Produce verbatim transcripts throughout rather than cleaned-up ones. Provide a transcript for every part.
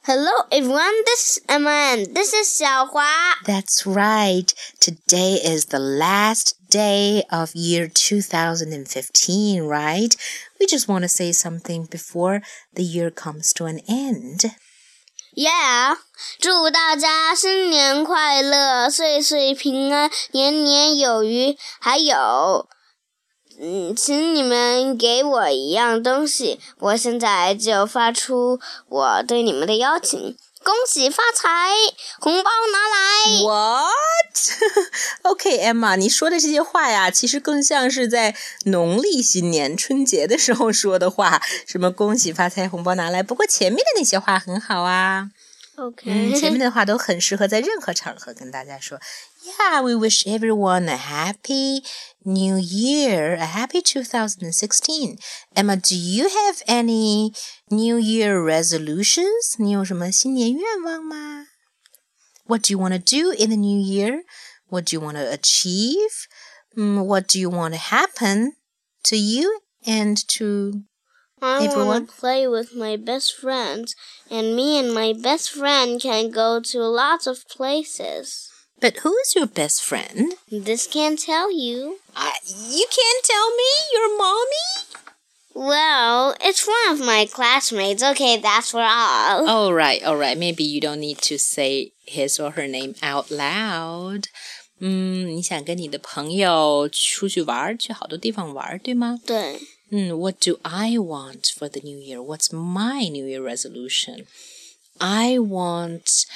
Hello everyone, this is Emma and this is 小华. That's right. Today is the last day of year two thousand fifteen, right? We just want to say something before the year comes to an end. Yeah, 祝大家新年快乐，岁岁平安，年年有余。还有，嗯，请你们给我一样东西，我现在就发出我对你们的邀请。恭喜发财，红包拿来。 What? Okay, Emma, 你说的这些话呀，其实更像是在农历新年春节的时候说的话，什么恭喜发财，红包拿来。不过前面的那些话很好啊。 OK， 嗯，前面的话都很适合在任何场合跟大家说。Yeah, we wish everyone a happy new year, a happy two thousand sixteen. Emma, do you have any New Year resolutions? 你有什么新年愿望吗？ What do you want to do in the new year? What do you want to achieve? Um, what do you want to happen to you and to I everyone? want to play with my best friends, and me and my best friend can go to lots of places. But who is your best friend? This can't tell you. Uh, you can't tell me? Your mommy? Well, it's one of my classmates. Okay, that's for all. All right, all right. Maybe you don't need to say his or her name out loud. 嗯，你想跟你的朋友出去玩，去好多地方玩，对吗？ 对。 嗯 What do I want for the new year? What's my New Year resolution? I want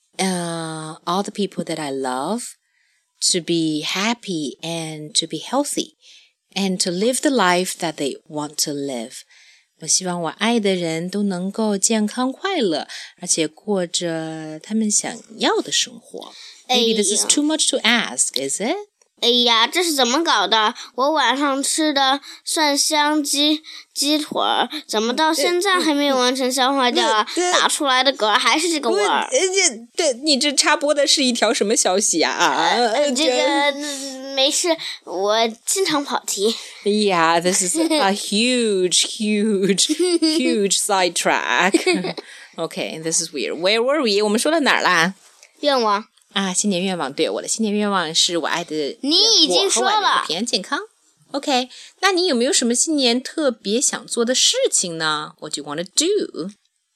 uh, all the people that I love to be happy and to be healthy and to live the life that they want to live. 我希望我爱的人都能够健康快乐，而且过着他们想要的生活。Maybe this is too much to ask, is it? 哎呀，这是怎么搞的？我晚上吃的蒜香鸡鸡腿儿，怎么到现在还没有完全消化掉啊？打出来的嗝还是这个味儿。 这这你这插播的是一条什么消息啊？啊， 呃，这个没事，我经常跑题。 Yeah, this is a huge, huge, huge sidetrack. Okay, this is weird. Where were we? 我们说到哪儿啦？ 愿望。 啊，新年愿望，对，我的新年愿望是我爱的你已经说了， 平安健康。OK， 那你有没有什么新年特别想做的事情呢？ What do you want to do?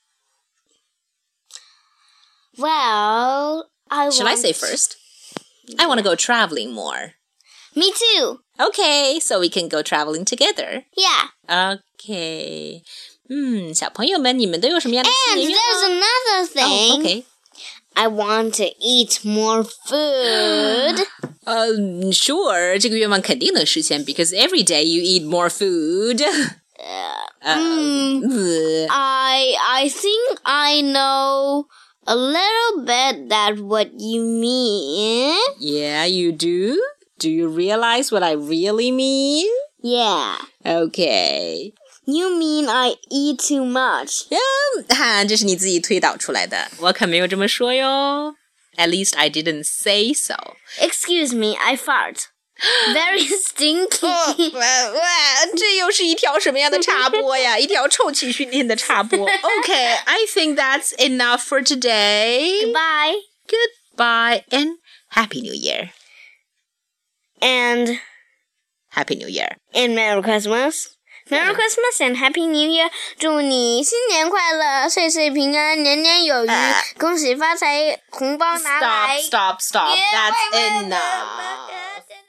Well, I Should want... I say first? I want to go traveling more. Me too. Okay, so we can go traveling together. Yeah. Okay. 嗯，小朋友们，你们都有什么样的新年愿望？ And there's another thing. Oh, okay. I want to eat more food. Um, sure, 这个愿望肯定能实现 because every day you eat more food. Uh, um, I I think I know a little bit that what you mean. Yeah, you do? Do you realize what I really mean? Yeah. Okay. You mean I eat too much? 嗯，哈，这是你自己推导出来的，我可没有这么说哟。At least I didn't say so. Excuse me, I fart. Very stinky. 哇哇，这又是一条什么样的插播呀？一条臭气熏天的插播。Okay, I think that's enough for today. Goodbye. Goodbye and Happy New Year. And Happy New Year. And Merry Christmas.Merry Christmas and Happy New Year！ 祝你新年快乐，岁岁平安，年年有余， uh, 恭喜发财，红包拿来。 Stop, stop, stop. That's enough.